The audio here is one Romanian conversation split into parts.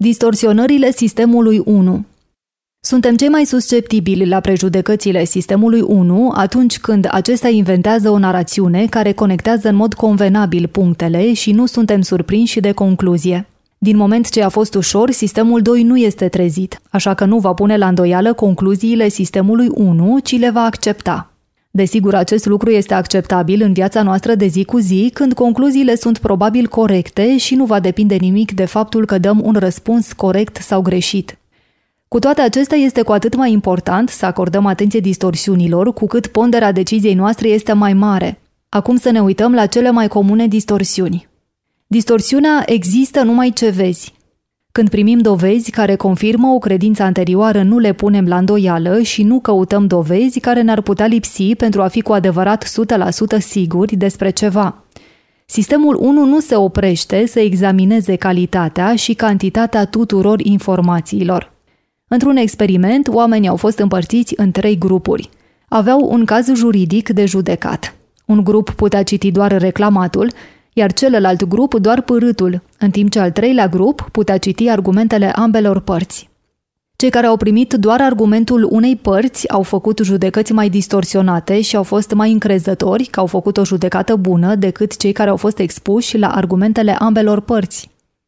Distorsionările sistemului 1. Suntem cei mai susceptibili la prejudecățile sistemului 1 atunci când acesta inventează o narațiune care conectează în mod convenabil punctele și nu suntem surprinși de concluzie. Din moment ce a fost ușor, sistemul 2 nu este trezit, așa că nu va pune la îndoială concluziile sistemului 1, ci le va accepta. Desigur, acest lucru este acceptabil în viața noastră de zi cu zi, când concluziile sunt probabil corecte și nu va depinde nimic de faptul că dăm un răspuns corect sau greșit. Cu toate acestea, este cu atât mai important să acordăm atenție distorsiunilor, cu cât ponderea deciziei noastre este mai mare. Acum să ne uităm la cele mai comune distorsiuni. Distorsiunea există numai ce vezi. Când primim dovezi care confirmă o credință anterioară, nu le punem la îndoială și nu căutăm dovezi care ne-ar putea lipsi pentru a fi cu adevărat 100% siguri despre ceva. Sistemul 1 nu se oprește să examineze calitatea și cantitatea tuturor informațiilor. Într-un experiment, oamenii au fost împărțiți în 3 grupuri. Aveau un caz juridic de judecat. Un grup putea citi doar reclamatul, iar celălalt grup doar pârâtul, în timp ce al 3-lea grup putea citi argumentele ambelor părți. Cei care au primit doar argumentul unei părți au făcut judecăți mai distorsionate și au fost mai încrezători că au făcut o judecată bună decât cei care au fost expuși la argumentele ambelor părți.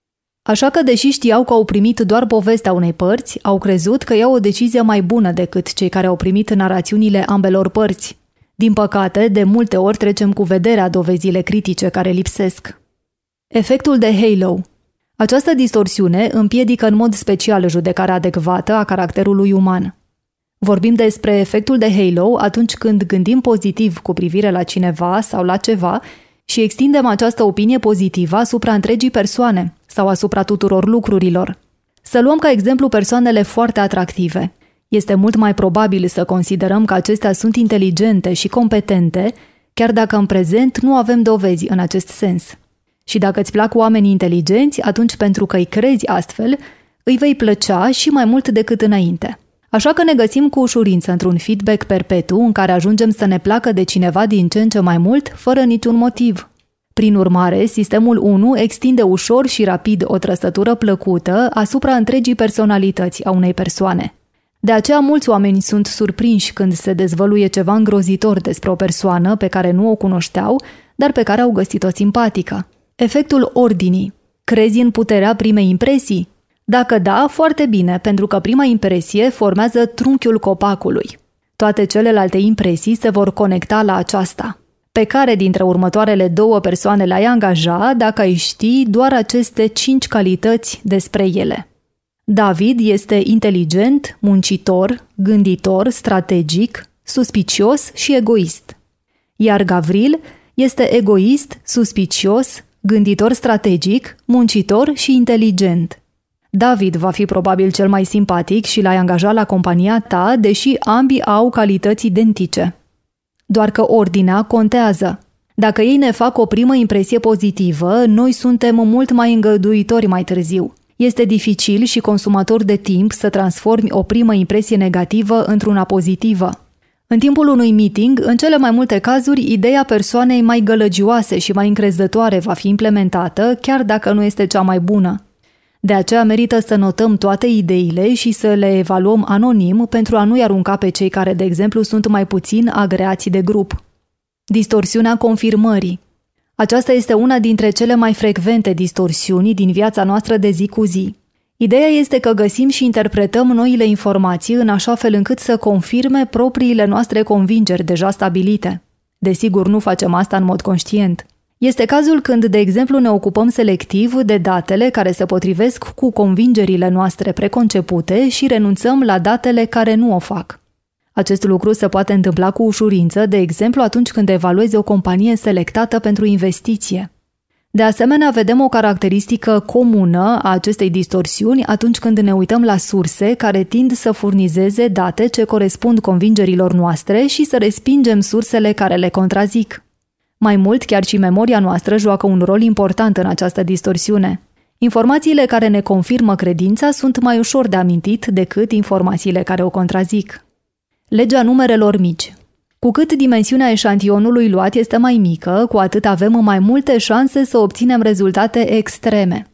Așa că, deși știau că au primit doar povestea unei părți, au crezut că iau o decizie mai bună decât cei care au primit narațiunile ambelor părți. Din păcate, de multe ori trecem cu vederea dovezile critice care lipsesc. Efectul de halo. Această distorsiune împiedică în mod special judecarea adecvată a caracterului uman. Vorbim despre efectul de halo atunci când gândim pozitiv cu privire la cineva sau la ceva și extindem această opinie pozitivă asupra întregii persoane sau asupra tuturor lucrurilor. Să luăm ca exemplu persoanele foarte atractive. Este mult mai probabil să considerăm că acestea sunt inteligente și competente, chiar dacă în prezent nu avem dovezi în acest sens. Și dacă îți plac oamenii inteligenți, atunci pentru că îi crezi astfel, îi vei plăcea și mai mult decât înainte. Așa că ne găsim cu ușurință într-un feedback perpetu în care ajungem să ne placă de cineva din ce în ce mai mult, fără niciun motiv. Prin urmare, sistemul 1 extinde ușor și rapid o trăsătură plăcută asupra întregii personalități a unei persoane. De aceea mulți oameni sunt surprinși când se dezvăluie ceva îngrozitor despre o persoană pe care nu o cunoșteau, dar pe care au găsit-o simpatică. Efectul ordinii. Crezi în puterea primei impresii? Dacă da, foarte bine, pentru că prima impresie formează trunchiul copacului. Toate celelalte impresii se vor conecta la aceasta. Pe care dintre următoarele 2 persoane le-ai angaja dacă ai ști doar aceste 5 calități despre ele? David este inteligent, muncitor, gânditor, strategic, suspicios și egoist. Iar Gavril este egoist, suspicios, gânditor strategic, muncitor și inteligent. David va fi probabil cel mai simpatic și l-ai angajat la compania ta, deși ambii au calități identice. Doar că ordinea contează. Dacă ei ne fac o primă impresie pozitivă, noi suntem mult mai îngăduitori mai târziu. Este dificil și consumator de timp să transformi o primă impresie negativă într-una pozitivă. În timpul unui meeting, în cele mai multe cazuri, ideea persoanei mai gălăgioase și mai încrezătoare va fi implementată, chiar dacă nu este cea mai bună. De aceea merită să notăm toate ideile și să le evaluăm anonim pentru a nu-i arunca pe cei care, de exemplu, sunt mai puțin agreați de grup. Distorsiunea confirmării. Aceasta este una dintre cele mai frecvente distorsiuni din viața noastră de zi cu zi. Ideea este că găsim și interpretăm noile informații în așa fel încât să confirme propriile noastre convingeri deja stabilite. Desigur, nu facem asta în mod conștient. Este cazul când, de exemplu, ne ocupăm selectiv de datele care se potrivesc cu convingerile noastre preconcepute și renunțăm la datele care nu o fac. Acest lucru se poate întâmpla cu ușurință, de exemplu atunci când evaluezi o companie selectată pentru investiție. De asemenea, vedem o caracteristică comună a acestei distorsiuni atunci când ne uităm la surse care tind să furnizeze date ce corespund convingerilor noastre și să respingem sursele care le contrazic. Mai mult, chiar și memoria noastră joacă un rol important în această distorsiune. Informațiile care ne confirmă credința sunt mai ușor de amintit decât informațiile care o contrazic. Legea numerelor mici. Cu cât dimensiunea eșantionului luat este mai mică, cu atât avem mai multe șanse să obținem rezultate extreme.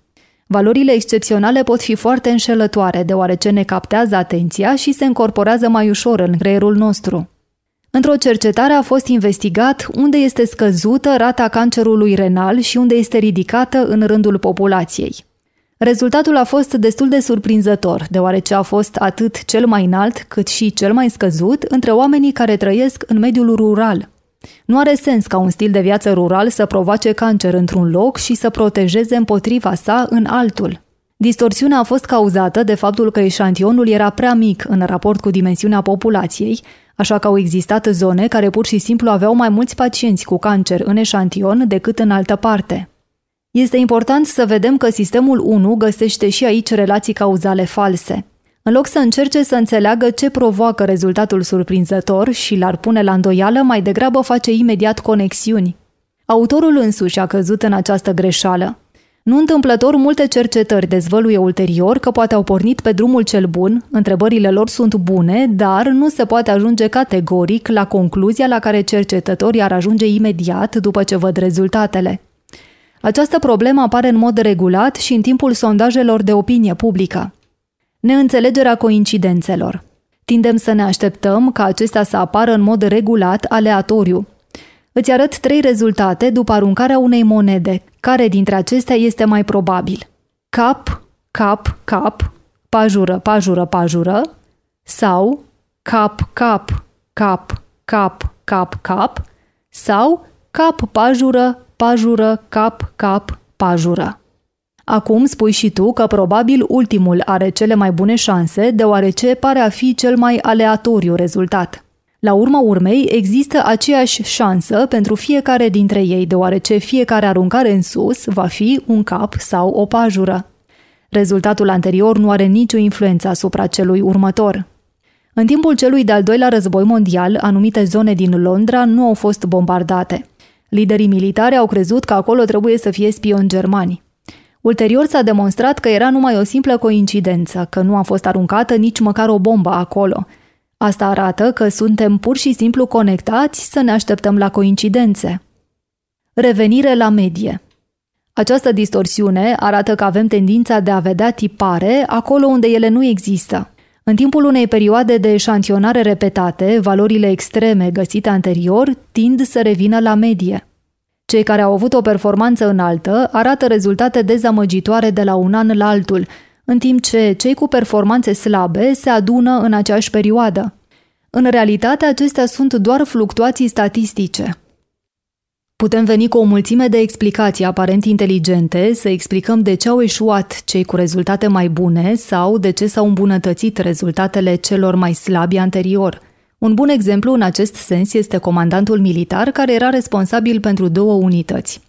Valorile excepționale pot fi foarte înșelătoare, deoarece ne captează atenția și se încorporează mai ușor în creierul nostru. Într-o cercetare a fost investigat unde este scăzută rata cancerului renal și unde este ridicată în rândul populației. Rezultatul a fost destul de surprinzător, deoarece a fost atât cel mai înalt cât și cel mai scăzut între oamenii care trăiesc în mediul rural. Nu are sens ca un stil de viață rural să provoace cancer într-un loc și să protejeze împotriva sa în altul. Distorsiunea a fost cauzată de faptul că eșantionul era prea mic în raport cu dimensiunea populației, așa că au existat zone care pur și simplu aveau mai mulți pacienți cu cancer în eșantion decât în altă parte. Este important să vedem că sistemul 1 găsește și aici relații cauzale false. În loc să încerce să înțeleagă ce provoacă rezultatul surprinzător și l-ar pune la îndoială, mai degrabă face imediat conexiuni. Autorul însuși a căzut în această greșeală. Nu întâmplător, multe cercetări dezvăluie ulterior că poate au pornit pe drumul cel bun, întrebările lor sunt bune, dar nu se poate ajunge categoric la concluzia la care cercetătorii ar ajunge imediat după ce văd rezultatele. Această problemă apare în mod regulat și în timpul sondajelor de opinie publică. Neînțelegerea coincidențelor. Tindem să ne așteptăm ca acestea să apară în mod regulat, aleatoriu. Îți arăt 3 rezultate după aruncarea unei monede. Care dintre acestea este mai probabil? Cap, cap, cap, pajură, pajură, pajură sau cap, cap, cap, cap, cap, cap sau cap, pajură, pajură, cap, cap, pajură. Acum spui și tu că probabil ultimul are cele mai bune șanse, deoarece pare a fi cel mai aleatoriu rezultat. La urma urmei, există aceeași șansă pentru fiecare dintre ei, deoarece fiecare aruncare în sus va fi un cap sau o pajură. Rezultatul anterior nu are nicio influență asupra celui următor. În timpul celui de-al doilea război mondial, anumite zone din Londra nu au fost bombardate. Liderii militari au crezut că acolo trebuie să fie spioni germani. Ulterior s-a demonstrat că era numai o simplă coincidență, că nu a fost aruncată nici măcar o bombă acolo. Asta arată că suntem pur și simplu conectați să ne așteptăm la coincidențe. Revenire la medie. Această distorsiune arată că avem tendința de a vedea tipare acolo unde ele nu există. În timpul unei perioade de eșantionare repetate, valorile extreme găsite anterior tind să revină la medie. Cei care au avut o performanță înaltă arată rezultate dezamăgitoare de la un an la altul, în timp ce cei cu performanțe slabe se adună în aceeași perioadă. În realitate, acestea sunt doar fluctuații statistice. Putem veni cu o mulțime de explicații aparent inteligente să explicăm de ce au eșuat cei cu rezultate mai bune sau de ce s-au îmbunătățit rezultatele celor mai slabi anterior. Un bun exemplu în acest sens este comandantul militar care era responsabil pentru 2 unități.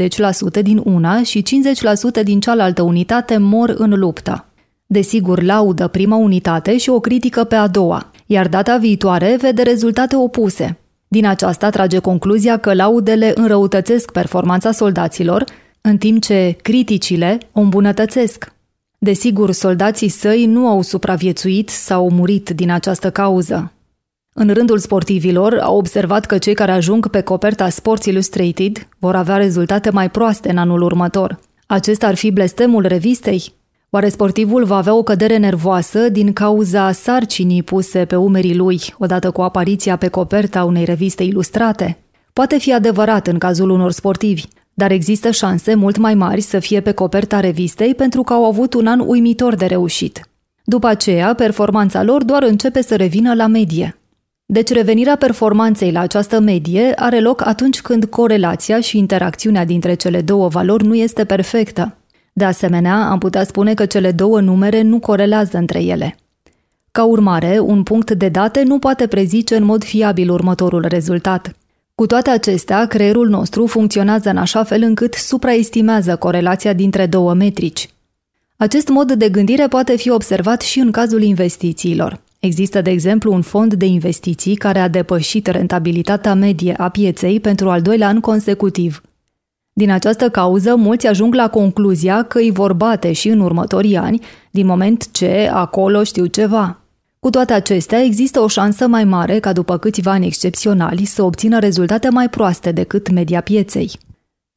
20% din una și 50% din cealaltă unitate mor în luptă. Desigur, laudă prima unitate și o critică pe a doua, iar data viitoare vede rezultate opuse. Din aceasta trage concluzia că laudele înrăutățesc performanța soldaților, în timp ce criticile o îmbunătățesc. Desigur, soldații săi nu au supraviețuit sau murit din această cauză. În rândul sportivilor, au observat că cei care ajung pe coperta Sports Illustrated vor avea rezultate mai proaste în anul următor. Acesta ar fi blestemul revistei? Oare sportivul va avea o cădere nervoasă din cauza sarcinii puse pe umerii lui, odată cu apariția pe coperta unei reviste ilustrate? Poate fi adevărat în cazul unor sportivi, dar există șanse mult mai mari să fie pe coperta revistei pentru că au avut un an uimitor de reușit. După aceea, performanța lor doar începe să revină la medie. Deci revenirea performanței la această medie are loc atunci când corelația și interacțiunea dintre cele două valori nu este perfectă. De asemenea, am putea spune că cele două numere nu corelează între ele. Ca urmare, un punct de date nu poate prezice în mod fiabil următorul rezultat. Cu toate acestea, creierul nostru funcționează în așa fel încât supraestimează corelația dintre două metrici. Acest mod de gândire poate fi observat și în cazul investițiilor. Există, de exemplu, un fond de investiții care a depășit rentabilitatea medie a pieței pentru al 2-lea an consecutiv. Din această cauză, mulți ajung la concluzia că îi vor bate și în următorii ani, din moment ce acolo știu ceva. Cu toate acestea, există o șansă mai mare ca după câțiva ani excepționali să obțină rezultate mai proaste decât media pieței.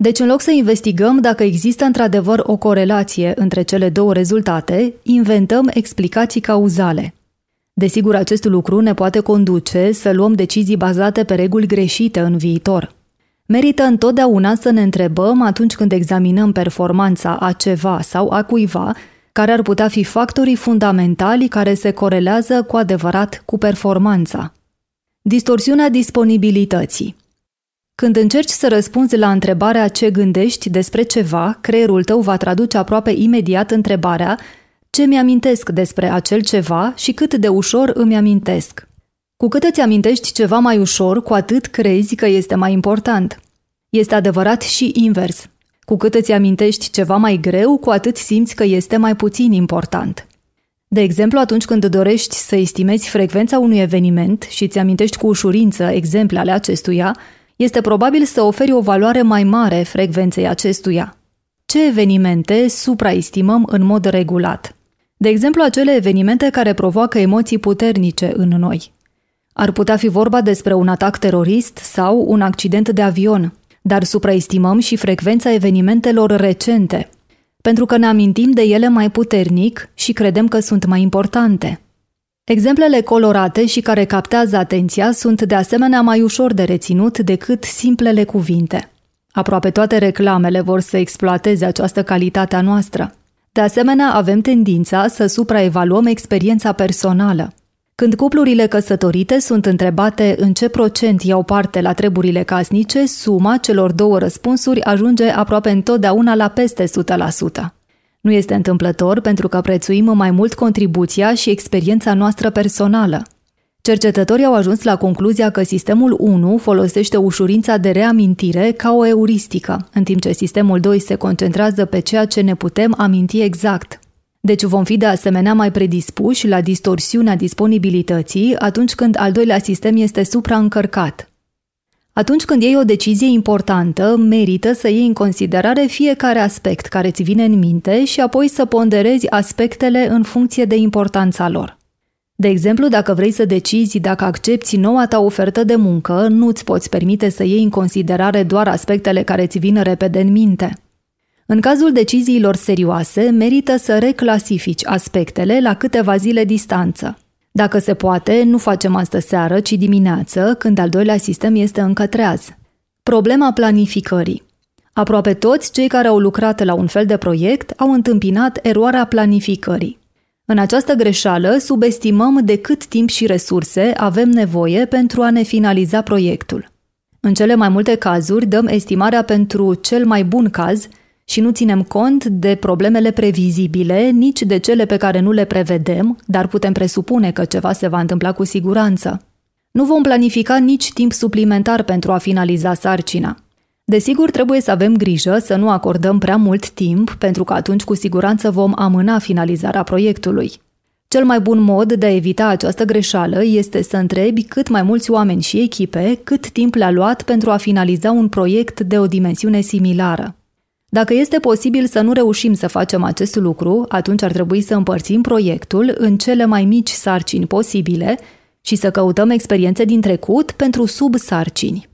Deci, în loc să investigăm dacă există într-adevăr o corelație între cele două rezultate, inventăm explicații cauzale. Desigur, acest lucru ne poate conduce să luăm decizii bazate pe reguli greșite în viitor. Merită întotdeauna să ne întrebăm atunci când examinăm performanța a ceva sau a cuiva, care ar putea fi factorii fundamentali care se corelează cu adevărat cu performanța. Distorsiunea disponibilității. Când încerci să răspunzi la întrebarea ce gândești despre ceva, creierul tău va traduce aproape imediat întrebarea ce mi-amintesc despre acel ceva și cât de ușor îmi amintesc. Cu cât îți amintești ceva mai ușor, cu atât crezi că este mai important. Este adevărat și invers. Cu cât îți amintești ceva mai greu, cu atât simți că este mai puțin important. De exemplu, atunci când dorești să estimezi frecvența unui eveniment și îți amintești cu ușurință exemple ale acestuia, este probabil să oferi o valoare mai mare frecvenței acestuia. Ce evenimente supraestimăm în mod regulat? De exemplu, acele evenimente care provoacă emoții puternice în noi. Ar putea fi vorba despre un atac terorist sau un accident de avion, dar supraestimăm și frecvența evenimentelor recente, pentru că ne amintim de ele mai puternic și credem că sunt mai importante. Exemplele colorate și care captează atenția sunt de asemenea mai ușor de reținut decât simplele cuvinte. Aproape toate reclamele vor să exploateze această calitate a noastră. De asemenea, avem tendința să supraevaluăm experiența personală. Când cuplurile căsătorite sunt întrebate în ce procent iau parte la treburile casnice, suma celor două răspunsuri ajunge aproape întotdeauna la peste 100%. Nu este întâmplător pentru că prețuim mai mult contribuția și experiența noastră personală. Cercetătorii au ajuns la concluzia că sistemul 1 folosește ușurința de reamintire ca o euristică, în timp ce sistemul 2 se concentrează pe ceea ce ne putem aminti exact. Deci vom fi de asemenea mai predispuși la distorsiunea disponibilității atunci când al doilea sistem este supraîncărcat. Atunci când iei o decizie importantă, merită să iei în considerare fiecare aspect care ți vine în minte și apoi să ponderezi aspectele în funcție de importanța lor. De exemplu, dacă vrei să decizi dacă accepți noua ta ofertă de muncă, nu îți poți permite să iei în considerare doar aspectele care ți vin repede în minte. În cazul deciziilor serioase, merită să reclasifici aspectele la câteva zile distanță. Dacă se poate, nu facem astă seară, ci dimineață, când al doilea sistem este încă treaz. Problema planificării. Aproape toți cei care au lucrat la un fel de proiect au întâmpinat eroarea planificării. În această greșeală, subestimăm de cât timp și resurse avem nevoie pentru a ne finaliza proiectul. În cele mai multe cazuri, dăm estimarea pentru cel mai bun caz și nu ținem cont de problemele previzibile, nici de cele pe care nu le prevedem, dar putem presupune că ceva se va întâmpla cu siguranță. Nu vom planifica nici timp suplimentar pentru a finaliza sarcina. Desigur, trebuie să avem grijă să nu acordăm prea mult timp, pentru că atunci cu siguranță vom amâna finalizarea proiectului. Cel mai bun mod de a evita această greșeală este să întrebi cât mai mulți oameni și echipe cât timp le-a luat pentru a finaliza un proiect de o dimensiune similară. Dacă este posibil să nu reușim să facem acest lucru, atunci ar trebui să împărțim proiectul în cele mai mici sarcini posibile și să căutăm experiențe din trecut pentru subsarcini.